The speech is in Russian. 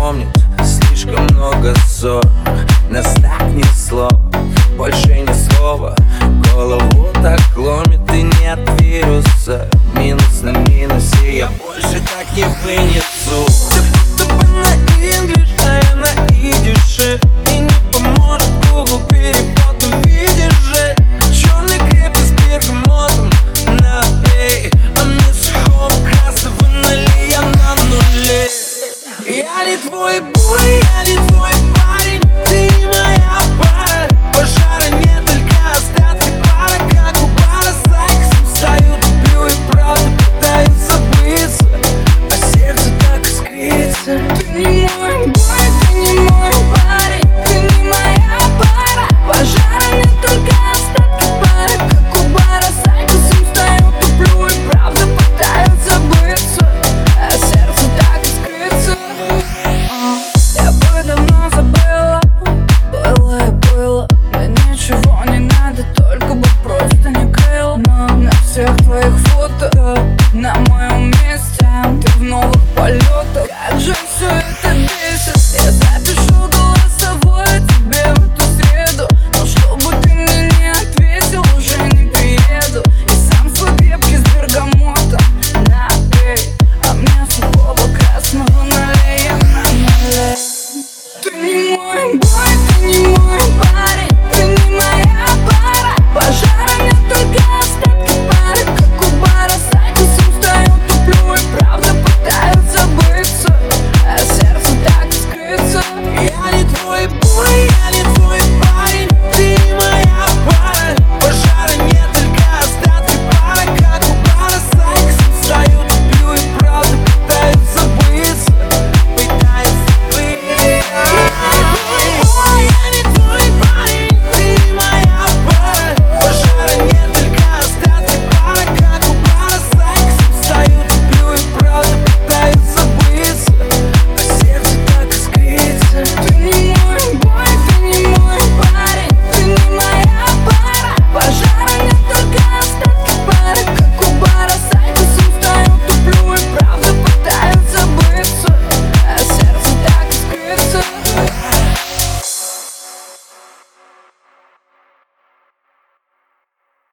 запомнить. Слишком много ссор, нас так несло, больше ни слова. Голову так ломит и нет вируса. Минус на минусе, я больше так не вынесу. Ты будто бы на инглиш, а я на идише. И не поможет Google перевод, увидишь же. Черный крепкий с бергамотом на эй, а мне сухого красного налей, я на нуле. Я не твой бой, я не твой